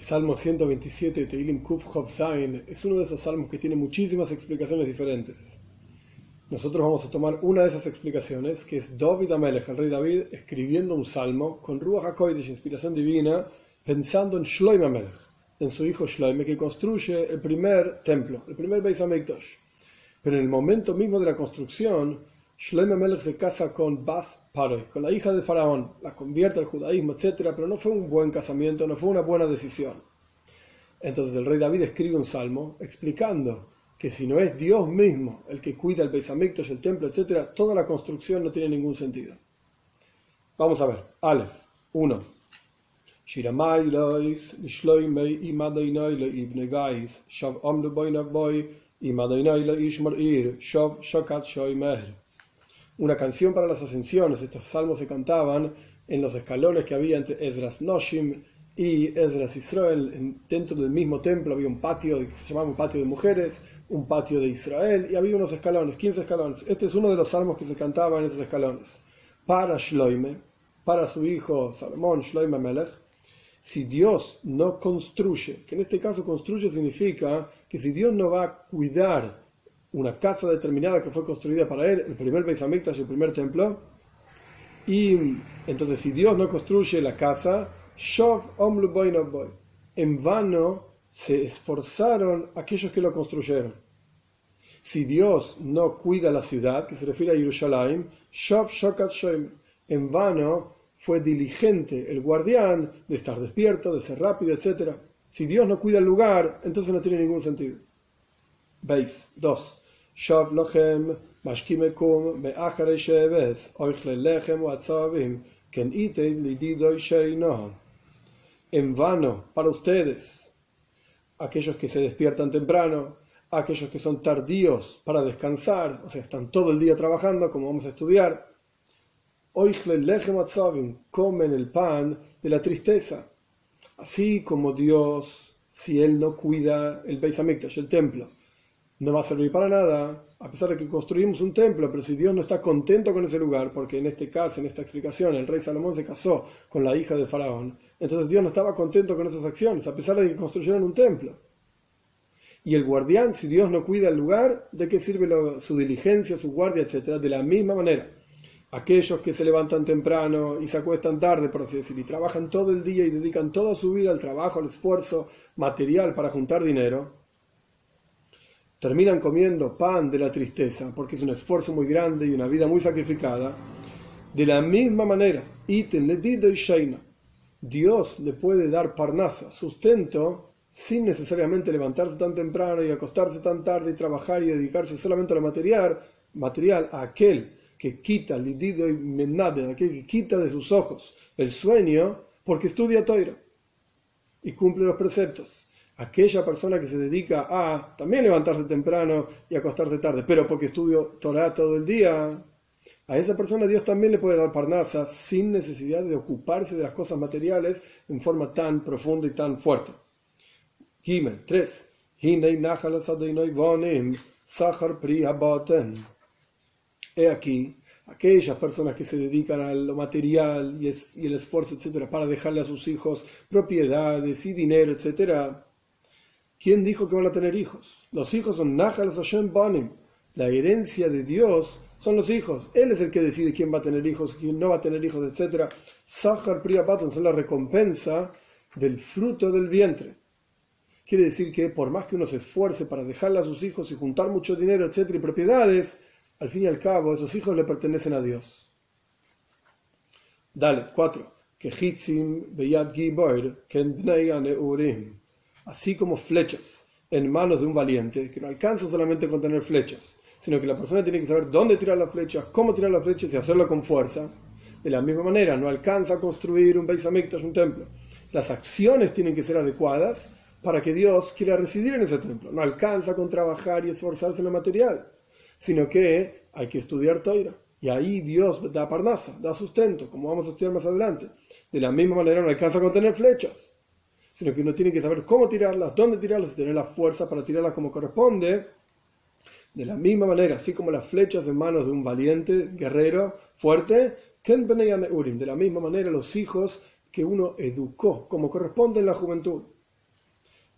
Salmo 127, Teilim Kuf Chof Zain, es uno de esos salmos que tiene muchísimas explicaciones diferentes. Nosotros vamos a tomar una de esas explicaciones, que es David Amelech, el rey David, escribiendo un salmo con Ruach HaKodesh, inspiración divina, pensando en Shloime Amelech, en su hijo Shloime, que construye el primer templo, el primer Beis HaMikdash. Pero en el momento mismo de la construcción, Shloime Amelech se casa con Bas Paroi, con la hija del faraón, la convierte al judaísmo, etc., pero no fue un buen casamiento, no fue una buena decisión. Entonces el rey David escribe un salmo explicando que si no es Dios mismo el que cuida el Beis HaMikdash, el templo, etc., toda la construcción no tiene ningún sentido. Vamos a ver. Aleph 1. Shiramai lois lishloimei imadeinai leibne gais shav amlu boinaboy imadeinai leishmar ir shav shakat shoimer. Una canción para las ascensiones. Estos salmos se cantaban en los escalones que había entre Esdras Noshim y Esdras Israel. Dentro del mismo templo había un patio que se llamaba un patio de mujeres, un patio de Israel, y había unos escalones, 15 escalones. Este es uno de los salmos que se cantaba en esos escalones. Para Shloime, para su hijo Salomón, Shloime Melech, si Dios no construye, que en este caso construye significa que si Dios no va a cuidar una casa determinada que fue construida para él, el primer Beis HaMikdash, el primer templo, y entonces si Dios no construye la casa, Shov Omlu Boinaboy, en vano se esforzaron aquellos que lo construyeron. Si Dios no cuida la ciudad, que se refiere a Jerusalén, Shov Shokat Shoim, en vano fue diligente el guardián de estar despierto, de ser rápido, etc. Si Dios no cuida el lugar, entonces no tiene ningún sentido. Veis, 2. Shav lochem mashkimekum be'acharei sheves oichle lechem u'atzavim ken itei lididoy sheinohan. En vano para ustedes, aquellos que se despiertan temprano, aquellos que son tardíos para descansar, o sea, están todo el día trabajando, como vamos a estudiar, oichle lechem u'atzavim, comen el pan de la tristeza. Así como Dios, si Él no cuida el Beis HaMikdash, el templo, no va a servir para nada, a pesar de que construimos un templo, pero si Dios no está contento con ese lugar, porque en este caso, en esta explicación, el rey Salomón se casó con la hija del faraón, entonces Dios no estaba contento con esas acciones, a pesar de que construyeron un templo. Y el guardián, si Dios no cuida el lugar, ¿de qué sirve su diligencia, su guardia, etcétera? De la misma manera, aquellos que se levantan temprano y se acuestan tarde, por así decir, y trabajan todo el día y dedican toda su vida al trabajo, al esfuerzo material para juntar dinero, terminan comiendo pan de la tristeza, porque es un esfuerzo muy grande y una vida muy sacrificada. De la misma manera, Dios le puede dar parnasa, sustento, sin necesariamente levantarse tan temprano y acostarse tan tarde y trabajar y dedicarse solamente a lo material, a aquel que quita, lidido y menade, aquel que quita de sus ojos el sueño, porque estudia Torah y cumple los preceptos. Aquella persona que se dedica a también levantarse temprano y acostarse tarde, pero porque estudio Torah todo el día, a esa persona Dios también le puede dar parnasa sin necesidad de ocuparse de las cosas materiales en forma tan profunda y tan fuerte. Gimel 3. He aquí, aquellas personas que se dedican a lo material y el esfuerzo, etc., para dejarle a sus hijos propiedades y dinero, etc., ¿quién dijo que van a tener hijos? Los hijos son Nachal Hashem Banim. La herencia de Dios son los hijos. Él es el que decide quién va a tener hijos, quién no va a tener hijos, etc. Sachar Priya Patun son la recompensa del fruto del vientre. Quiere decir que por más que uno se esfuerce para dejarle a sus hijos y juntar mucho dinero, etc., y propiedades, al fin y al cabo esos hijos le pertenecen a Dios. Dale, 4. Kehitzim beyad gibor ken bnei aneurim. Así como flechas en manos de un valiente, que no alcanza solamente con tener flechas, sino que la persona tiene que saber dónde tirar las flechas, cómo tirar las flechas y hacerlo con fuerza. De la misma manera, no alcanza a construir un Beis HaMikdash, un templo. Las acciones tienen que ser adecuadas para que Dios quiera residir en ese templo. No alcanza con trabajar y esforzarse en lo material, sino que hay que estudiar Torah. Y ahí Dios da parnasa, da sustento, como vamos a estudiar más adelante. De la misma manera, no alcanza con tener flechas, sino que uno tiene que saber cómo tirarlas, dónde tirarlas y tener la fuerza para tirarlas como corresponde. De la misma manera, así como las flechas en manos de un valiente, guerrero, fuerte, de la misma manera los hijos que uno educó como corresponde en la juventud.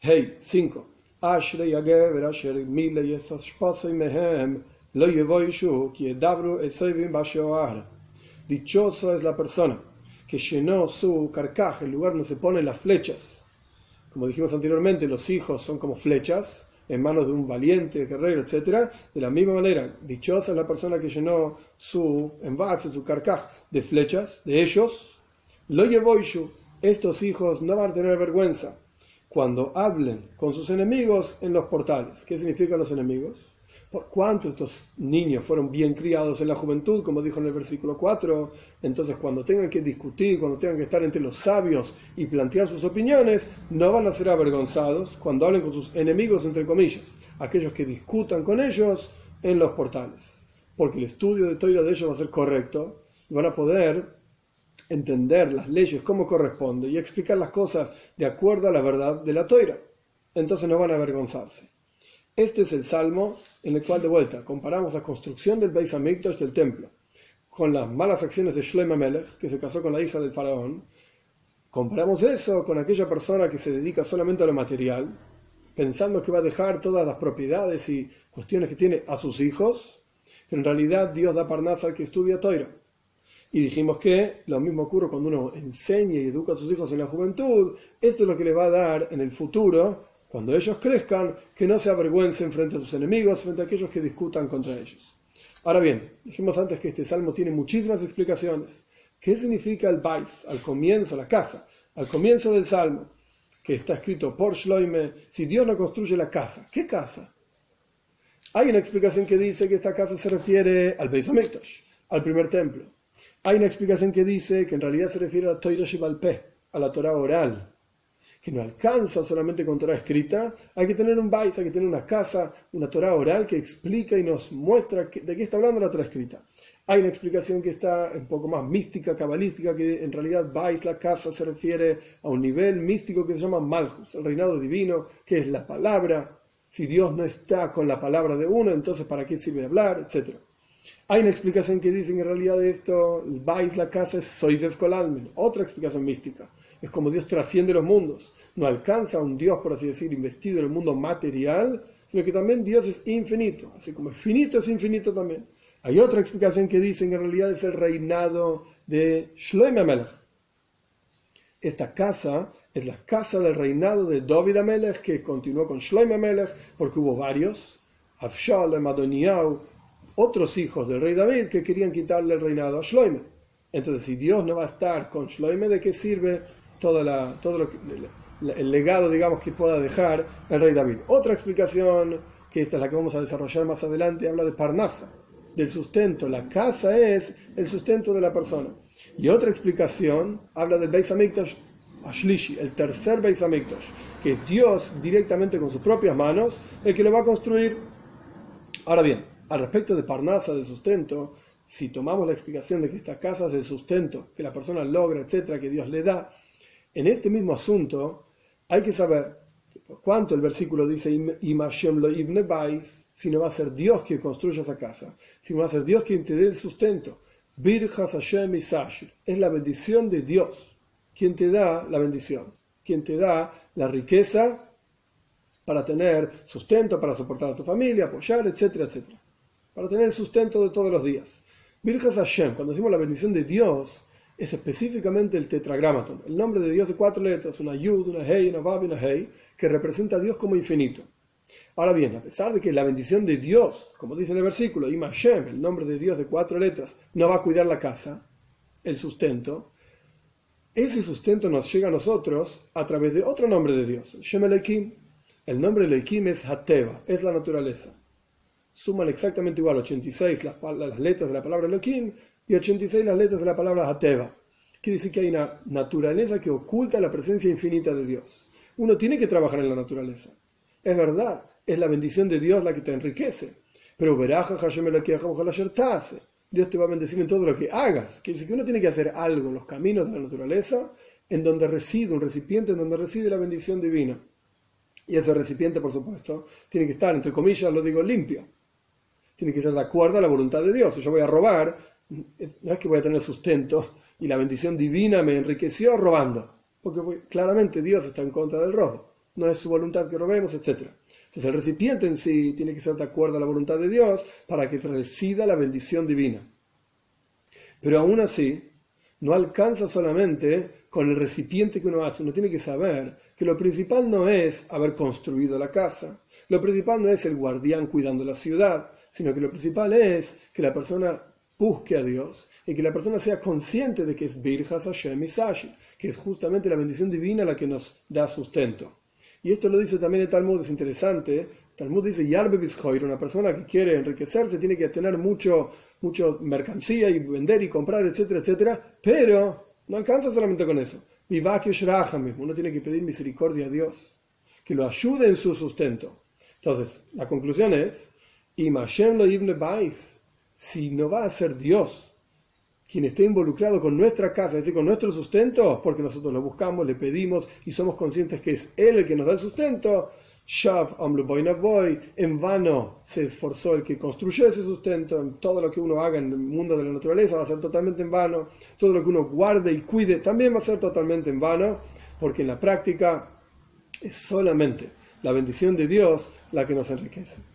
Hey, 5. Ashrei hagever asher mile yesashpasei mehem lo yevoishu ki edabru esoivim bashoar. Dichoso es la persona que llenó su carcaj, el lugar donde se ponen las flechas. Como dijimos anteriormente, los hijos son como flechas en manos de un valiente guerrero, etc. De la misma manera, dichosa es la persona que llenó su envase, su carcaj de flechas, de ellos. Lo yevoishu, estos hijos no van a tener vergüenza cuando hablen con sus enemigos en los portales. ¿Qué significan los enemigos? ¿Por cuánto estos niños fueron bien criados en la juventud, como dijo en el versículo 4? Entonces, cuando tengan que discutir, cuando tengan que estar entre los sabios y plantear sus opiniones, no van a ser avergonzados cuando hablen con sus enemigos, entre comillas, aquellos que discutan con ellos en los portales. Porque el estudio de Torah de ellos va a ser correcto y van a poder entender las leyes como corresponde y explicar las cosas de acuerdo a la verdad de la Torah. Entonces no van a avergonzarse. Este es el salmo en el cual, de vuelta, comparamos la construcción del Beis Hamikdash, del templo, con las malas acciones de Shlomo Melech, que se casó con la hija del faraón. Comparamos eso con aquella persona que se dedica solamente a lo material, pensando que va a dejar todas las propiedades y cuestiones que tiene a sus hijos, pero en realidad Dios da parnasa al que estudia Torah. Y dijimos que lo mismo ocurre cuando uno enseña y educa a sus hijos en la juventud. Esto es lo que le va a dar en el futuro, cuando ellos crezcan, que no se avergüencen frente a sus enemigos, frente a aquellos que discutan contra ellos. Ahora bien, dijimos antes que este salmo tiene muchísimas explicaciones. ¿Qué significa el Bais? Al comienzo, la casa, al comienzo del salmo, que está escrito por Shloime, si Dios no construye la casa, ¿qué casa? Hay una explicación que dice que esta casa se refiere al Beis Hamikdash, al primer templo. Hay una explicación que dice que en realidad se refiere a Torah Sheba'al Peh, a la Torah oral, que no alcanza solamente con Torah escrita, hay que tener un Bais, hay que tener una casa, una Torah oral que explica y nos muestra de qué está hablando la Torah escrita. Hay una explicación que está un poco más mística, cabalística, que en realidad Bais, la casa, se refiere a un nivel místico que se llama Malchus, el reinado divino, que es la palabra. Si Dios no está con la palabra de uno, entonces ¿para qué sirve hablar? Etcétera. Hay una explicación que dice que en realidad esto, el Bais, la casa, es Soivev Kol Almin, otra explicación mística. Es como Dios trasciende los mundos. No alcanza a un Dios, por así decir, investido en el mundo material, sino que también Dios es infinito. Así como es finito, es infinito también. Hay otra explicación que dice que en realidad es el reinado de Shlomo Melech. Esta casa es la casa del reinado de David HaMelech, que continuó con Shlomo Melech, porque hubo varios, Avshalom, Adoniyahu, otros hijos del rey David que querían quitarle el reinado a Shlomo. Entonces, si Dios no va a estar con Shlomo, ¿de qué sirve el legado, digamos, que pueda dejar el rey David? Otra explicación, que esta es la que vamos a desarrollar más adelante, habla de Parnasa, del sustento. La casa es el sustento de la persona. Y otra explicación habla del Beis Hamikdash Ashlishi, el tercer Beis Hamikdash, que es Dios directamente con sus propias manos el que lo va a construir. Ahora bien, al respecto de Parnasa, del sustento, si tomamos la explicación de que esta casa es el sustento que la persona logra, etcétera, que Dios le da, en este mismo asunto hay que saber cuánto el versículo dice Im Hashem lo ibne bais, si no va a ser Dios quien construya esa casa, si no va a ser Dios quien te dé el sustento. Birjas Hashem Isashir, es la bendición de Dios quien te da la bendición, quien te da la riqueza para tener sustento, para soportar a tu familia, apoyar, etcétera, etcétera, para tener el sustento de todos los días. Birjas Hashem, cuando decimos la bendición de Dios, es específicamente el tetragramaton, el nombre de Dios de 4 letras, una Yud, una Hei, una Vav y una Hei, que representa a Dios como infinito. Ahora bien, a pesar de que la bendición de Dios, como dice en el versículo, Im Hashem, el nombre de Dios de 4 letras, no va a cuidar la casa, el sustento, ese sustento nos llega a nosotros a través de otro nombre de Dios, Shem Elohim. El nombre de Elohim es Hateva, es la naturaleza. Suman exactamente igual 86 las letras de la palabra Elohim y 86 las letras de la palabra Hateva. Quiere decir que hay una naturaleza que oculta la presencia infinita de Dios. Uno tiene que trabajar en la naturaleza. Es verdad, es la bendición de Dios la que te enriquece. Pero veraja Hashem Dios te va a bendecir en todo lo que hagas. Quiere decir que uno tiene que hacer algo en los caminos de la naturaleza, en donde reside, un recipiente en donde reside la bendición divina. Y ese recipiente, por supuesto, tiene que estar, entre comillas, lo digo, limpio. Tiene que ser de acuerdo a la voluntad de Dios. Si yo voy a robar, no es que voy a tener sustento y la bendición divina me enriqueció robando. Porque claramente Dios está en contra del robo. no es su voluntad que robemos, etc. Entonces el recipiente en sí tiene que ser de acuerdo a la voluntad de Dios para que resida la bendición divina. Pero aún así, no alcanza solamente con el recipiente que uno hace. Uno tiene que saber que lo principal no es haber construido la casa, lo principal no es el guardián cuidando la ciudad, sino que lo principal es que la persona busque a Dios y que la persona sea consciente de que es Birjas Hashem Isashi, que es justamente la bendición divina la que nos da sustento. Y esto lo dice también el Talmud, es interesante. El Talmud dice, Yarbe Bizhoir, una persona que quiere enriquecerse tiene que tener mucho mercancía y vender y comprar, etcétera, etcétera, pero no alcanza solamente con eso. Uno tiene que pedir misericordia a Dios, que lo ayude en su sustento. Entonces, la conclusión es, si no va a ser Dios quien esté involucrado con nuestra casa, es decir, con nuestro sustento, porque nosotros lo buscamos, le pedimos y somos conscientes que es Él el que nos da el sustento, en vano se esforzó el que construyó ese sustento. Todo lo que uno haga en el mundo de la naturaleza va a ser totalmente en vano, todo lo que uno guarde y cuide también va a ser totalmente en vano, porque en la práctica es solamente la bendición de Dios la que nos enriquece.